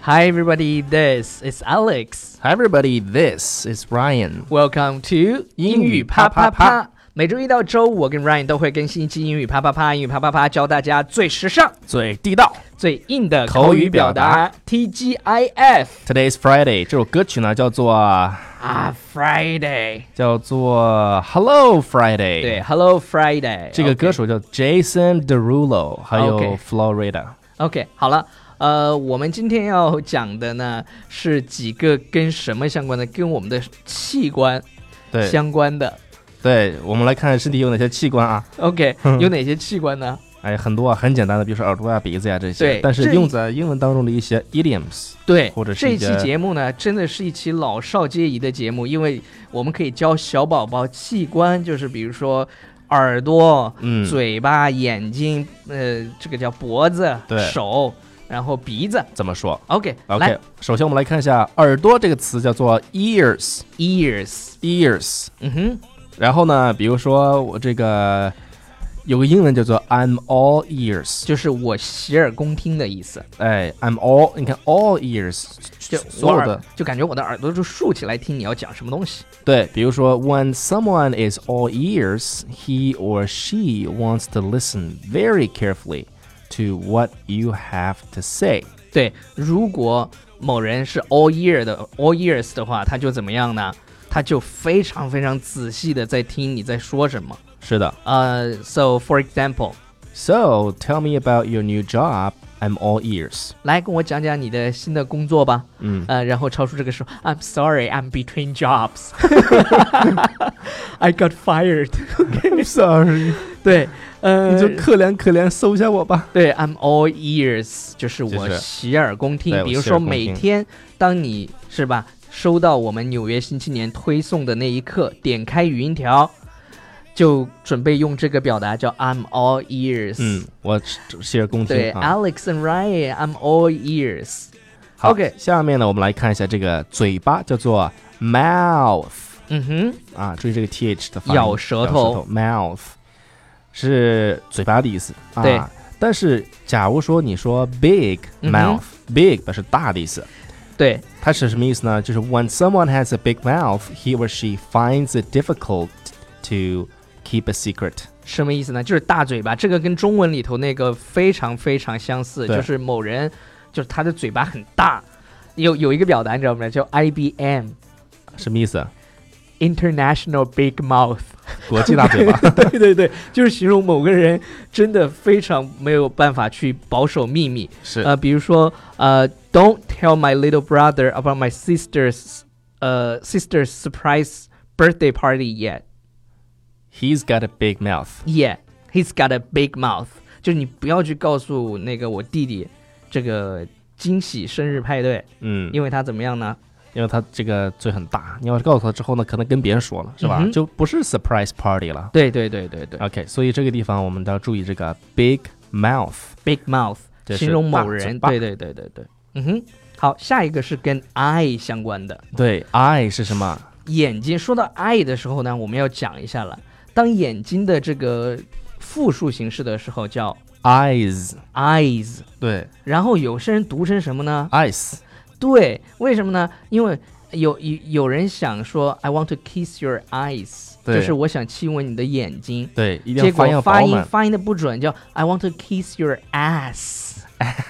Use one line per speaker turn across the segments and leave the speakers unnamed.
Hi everybody, this is Alex.
Hi everybody, this is Ryan.
Welcome to 英语啪啪啪。每周一到周五，我跟 Ryan 都会更新一期英语啪啪啪。英语啪啪啪教大家最时尚、
最地道、
最硬的口语表达。TGIF.
Today's Friday. 这首歌曲呢叫做
Friday，
叫做 Hello Friday。
对 ，Hello Friday。
这个歌手叫 Jason Derulo， 还有 Florida。OK，
好了。我们今天要讲的呢是几个跟什么相关的，跟我们的器官相关的。
对，我们来看身体有哪些器官啊
？OK， 有哪些器官呢？
很多很简单的，比如说耳朵啊、鼻子呀这些。
对，
但是用在英文当中的一些 idioms。
对，
或者是
这一期节目呢，真的是一期老少皆宜的节目，因为我们可以教小宝宝器官，就是比如说耳朵、嘴巴、眼睛，这个叫脖子、手。然后鼻子
怎么说
？OK，
首先我们来看一下耳朵这个词叫做 ears。然后呢，比如说我这个有个英文叫做 I'm all ears，
就是我洗耳恭听的意思。
I'm all， 你看 all ears， 所有的
就感觉我的耳朵就竖起来听你要讲什么东西。
对，比如说 When someone is all ears, he or she wants to listen very carefully.To what you have to say。
对，如果某人是 all ears 的话，他就怎么样呢？他就非常非常仔细的在听你在说什么。
是的。
So for example.
So tell me about your new job. I'm all ears.
来跟我讲讲你的新的工作吧。然后超叔这个时候 I'm sorry, I'm between jobs. I got fired.
I'm sorry.
对，
你就可怜可怜收下我吧。
对 I'm all ears 就是我洗耳恭听。比如说每天当你是吧收到我们纽约新青年推送的那一刻，点开语音条就准备用这个表达叫 I'm all ears。
我洗耳恭听。
对，Alex and Ryan, I'm all ears。
好，OK， 下面呢，我们来看一下这个嘴巴叫做 mouth。注意这个 th 的发音，
咬舌头
，mouth 是嘴巴的意思。
对，
但是假如说你说 big mouth，big 表示大的意思。
对，
它是什么意思呢？就是 when someone has a big mouth, he or she finds it difficult to keep a secret。
什么意思呢？就是大嘴巴，这个跟中文里头那个非常非常相似，就是某人就是他的嘴巴很大。有一个表达你知道吗？叫 IBM。
什么意思
？International Big Mouth，
国际大嘴巴。
对，就是形容某个人真的非常没有办法去保守秘密。
是
比如说Don't tell my little brother about my sister's surprise birthday party yet.
He's got a big mouth.
Yeah, he's got a big mouth. 就是你不要去告诉那个我弟弟这个惊喜生日派对。因为他怎么样呢？
因为他这个嘴很大，你要是告诉他之后呢，可能跟别人说了，是吧？就不是 surprise party 了。
对。
OK， 所以这个地方我们都要注意这个 big mouth。big
mouth 形容某人。对。好，下一个是跟 eye 相关的。
对 ，eye 是什么？
眼睛。说到 eye 的时候呢，我们要讲一下了。当眼睛的这个复数形式的时候叫
eyes。对。
然后有些人读成什么呢
？eyes。
对，为什么呢？因为有人想说 I want to kiss your eyes， 就是我想亲吻你的眼睛。
对，一定
要
发音
发音的不准，叫 I want to kiss your ass。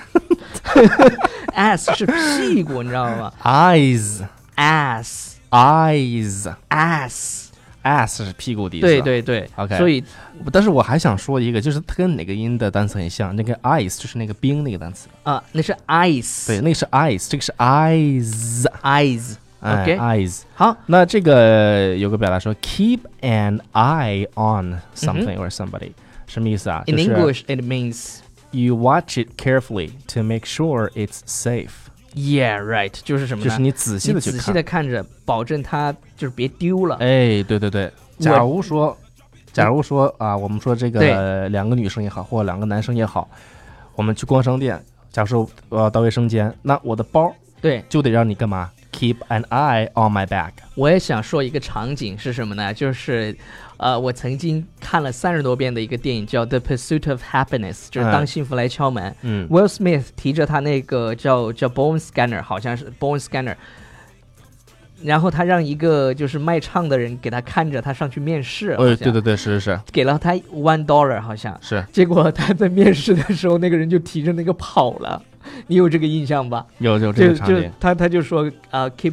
ass 是屁股，你知道吗？
eyes
ass
eyes
ass
是屁股的意思。
对
OK，
所以
但是我还想说一个，就是它跟哪个音的单词很像，那个 ice 就是那个冰那个单词
那是 ice。
对，那个是 ice， 这个是 eyes。
OK，
eyes。
好，
那这个有个表达说 keep an eye on something or somebody， 什么意思啊？
In English it means
you watch it carefully to make sure it's safe。Yeah,
right， 就是什么呢？
就是你仔细的
看着，保证它就是别丢了。
对。假如说我们说这个两个女生也好，或两个男生也好，我们去逛商店，假如说我要到卫生间，那我的包就得让你干嘛 keep an eye on my back。
我也想说一个场景是什么呢？就是我曾经看了30多遍的一个电影叫 The Pursuit of Happiness， 就是当幸福来敲门。Will Smith 提着他那个叫 Bone Scanner， 好像是 Bone Scanner， 然后他让一个就是卖唱的人给他看着，他上去面试。
对，是，
给了他$1，好像
是。
结果他在面试的时候，那个人就提着那个跑了。你有这个印象吧？
有这个场景。
他就说keep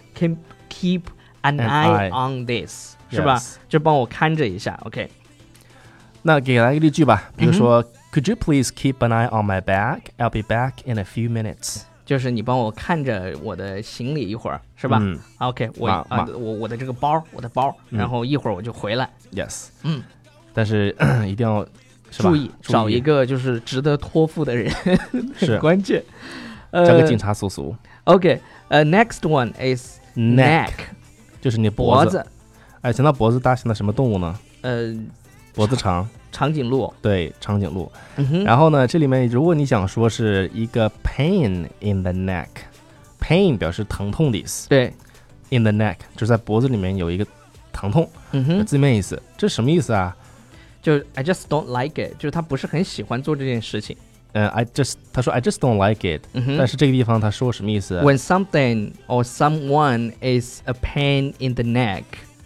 an eye on this， 是吧？就帮我看着一下 ，OK。
那给来一个例句吧，比如说、Could you please keep an eye on my bag? I'll be back in a few minutes。
就是你帮我看着我的行李一会儿，是吧？OK， 我的这个包，然后一会儿我就回来。
Yes。但是一定要。
注意找一个就是值得托付的人，很关键。
交给警察叔叔。
OK，next one is neck，
就是你脖子。想到脖子，大家想到什么动物呢？脖子长。
长颈鹿。对，
长颈鹿。然后呢，这里面如果你想说是一个 pain in the neck，pain 表示疼痛的意思。
对
，in the neck 就是在脖子里面有一个疼痛。字面意思，这什么意思啊？
就 I just don't like it， 就是他不是很喜欢做这件事情。
他说 I just don't like it，但是这个地方他说什么意思
？When something or someone is a pain in the neck,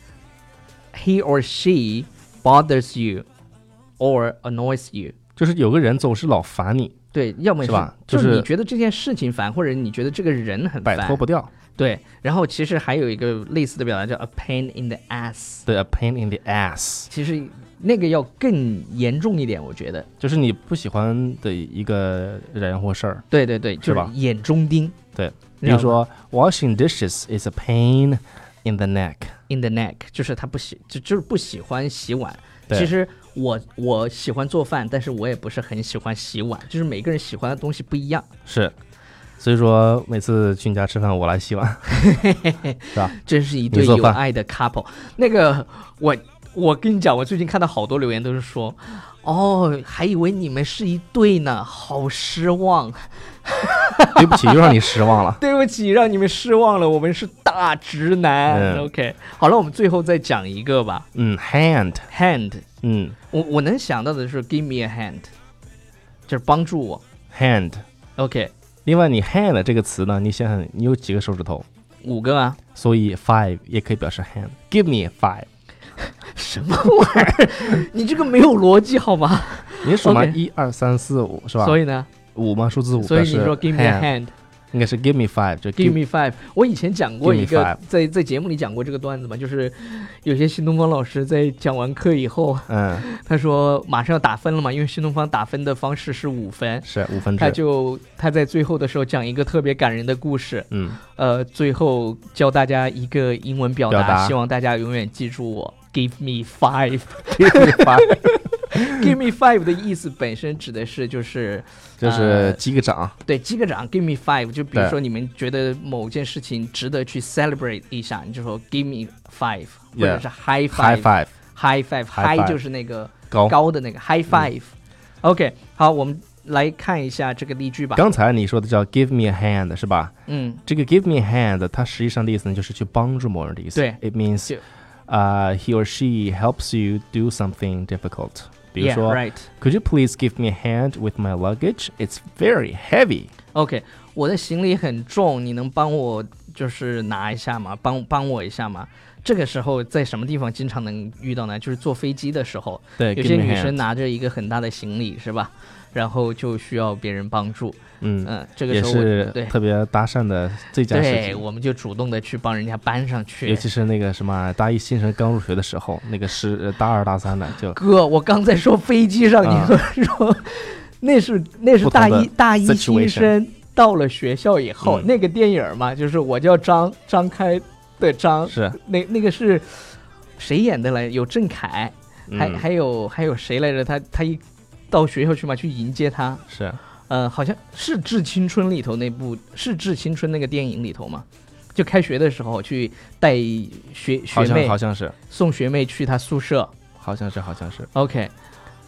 he or she bothers you or annoys you，
就是有个人总是老烦你。
对，要么
是吧？
就是你觉得这件事情烦，或者你觉得这个人很烦，
摆脱不掉。
对，然后其实还有一个类似的表达叫 a pain in the ass。
对 ，a pain in the ass。
其实那个要更严重一点，我觉得
就是你不喜欢的一个人或事儿。
对，就是眼中钉。
对，比如说 washing dishes is a pain in the neck。
in the neck 就是他就是不喜欢洗碗。其实我喜欢做饭，但是我也不是很喜欢洗碗，就是每个人喜欢的东西不一样。
是。所以说每次去你家吃饭我来洗碗是吧？
真是一对有爱的 couple。 那个我跟你讲，我最近看到好多留言都是说，还以为你们是一对呢，好失望。
对不起，又让你失望了。
对不起，让你们失望了，我们是大直男。OK， 好了，我们最后再讲一个吧。
hand。
我能想到的是 give me a hand， 就是帮助我。
hand。
OK。
另外你 hand 这个词呢，你想想你有几个手指头
？5个啊。
所以 5也可以表示 hand。 Give me 5。
什么玩意儿？你这个没有逻辑好吗？
你数吗？1、2、3、4、5是吧？
所以呢
？5吗？数字5。
所以你说 give me a hand，
应该是 give me 5， 就
give me 5。我以前讲过一个，在节目里讲过这个段子嘛，就是有些新东方老师在讲完课以后，他说马上要打分了嘛，因为新东方打分的方式是5分，
是5分制。
他在最后的时候讲一个特别感人的故事，最后教大家一个英文表达，希望大家永远记住我。Give me 5
Give me 5
Give me 5的意思本身指的是就是
击个掌。
对，击个掌。 Give me 5， 就比如说你们觉得某件事情值得去 celebrate 一下，你就说 Give me 5， 或者是 high five。High 就是那个高的那个 high five。OK， 好，我们来看一下这个例句吧。
刚才你说的叫 give me a hand 是吧？这个 give me a hand 它实际上的意思呢就是去帮助某人的意思。
对，
it means he or she helps you do something difficult。 比如说 Could you please give me a hand with my luggage? It's very heavy。
OK， 我的行李很重，你能帮我就是拿一下吗？帮我一下吗？这个时候在什么地方经常能遇到呢？就是坐飞机的时候，
对，
有些女生拿着一个很大的行李是吧，然后就需要别人帮助。这个时候
也是特别搭讪的最佳时机。
对，我们就主动的去帮人家搬上去。
尤其是那个什么大一新生刚入学的时候，那个是大2、大3的就。
哥，我刚才说飞机上，你说那是大一新生到了学校以后，那个电影嘛，就是我叫张开的张，
是
那个是谁演的来？有郑恺，还有谁来着？他一到学校去嘛，去迎接他。
是。
好像是《致青春》里头那部，是《致青春》那个电影里头嘛，就开学的时候去带学妹，
好像是
送学妹去他宿舍，
好像是。
OK，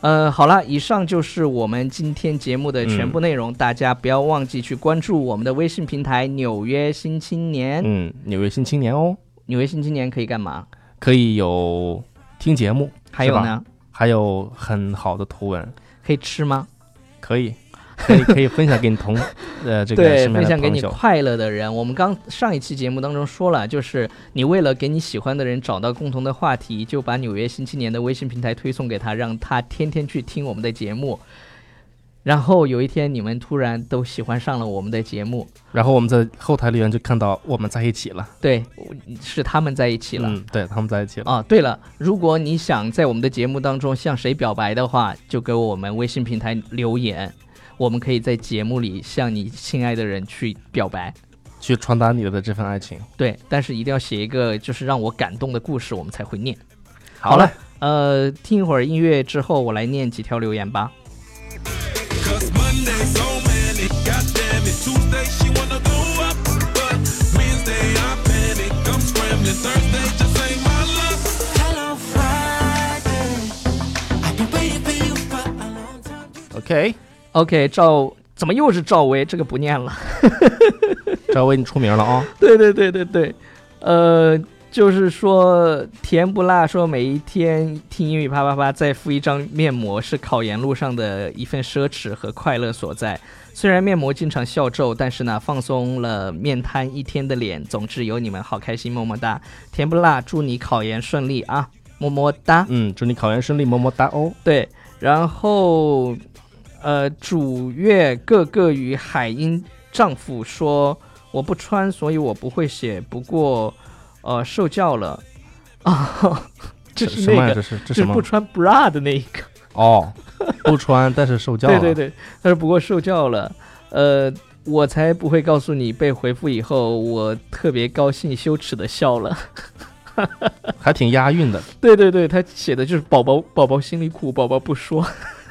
好了，以上就是我们今天节目的全部内容。大家不要忘记去关注我们的微信平台《纽约新青年》。
纽约新青年哦。
纽约新青年可以干嘛？
可以有听节目，
还有呢？
还有很好的图文。
可以吃吗？
可以分享给你这个
对，分享给你快乐的人。我们上一期节目当中说了，就是你为了给你喜欢的人找到共同的话题，就把纽约新青年的微信平台推送给他，让他天天去听我们的节目。然后有一天你们突然都喜欢上了我们的节目，
然后我们在后台留言就看到我们在一起了。
对，是他们在一起了。
对，他们在一起了。
哦，对了，如果你想在我们的节目当中向谁表白的话，就给我们微信平台留言，我们可以在节目里向你亲爱的人去表白，
去传达你的这份爱情。
对，但是一定要写一个就是让我感动的故事，我们才会念。
好了，
听一会儿音乐之后，我来念几条留言吧。OK， 怎么又是赵薇？这个不念了。
赵薇，你出名了啊！
对，就是说甜不辣说每一天听英语啪啪啪再敷一张面膜是考研路上的一份奢侈和快乐所在。虽然面膜经常笑皱，但是呢放松了面瘫一天的脸。总之有你们好开心，么么哒。甜不辣，祝你考研顺利啊，么么哒。
祝你考研顺利，么么哒哦。
对，然后主乐各个与海英丈夫说我不穿所以我不会写，不过受教了啊。这是那个这是不穿 bra 的那一个
哦，不穿但是受教了。
对，他说不过受教了。我才不会告诉你。被回复以后我特别高兴羞耻的笑了。
还挺押韵的。
对，他写的就是宝宝心里苦，宝宝不说。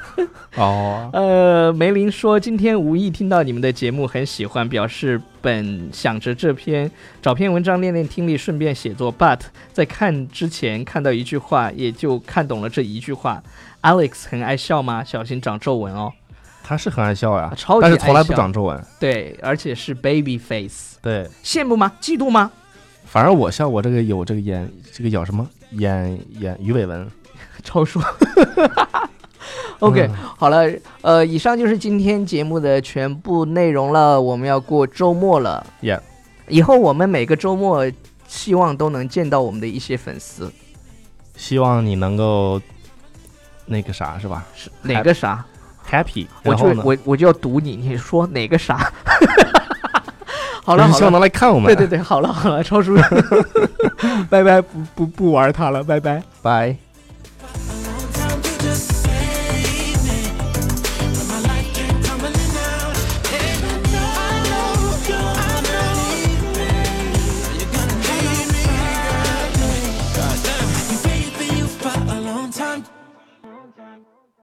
梅林说今天无意听到你们的节目很喜欢，表示本想着找篇文章练练听力，顺便写作 but 在看之前看到一句话，也就看懂了这一句话。 Alex 很爱笑吗？小心长皱纹哦。
他是很爱笑呀，
超级爱笑，
但是从来不长皱纹。
对，而且是 baby face。
对，
羡慕吗？嫉妒吗？
反而我笑，我这个有这个这个叫什么眼鱼尾纹。
超说。OK， 好了，以上就是今天节目的全部内容了。我们要过周末了，以后我们每个周末希望都能见到我们的一些粉丝。
希望你能够那个啥，是吧？
是哪个啥
？Happy。
我就要堵你，你说哪个啥？好了，
希望能来看我们。
对，好了，超叔，拜拜，不玩它了，拜拜，
拜。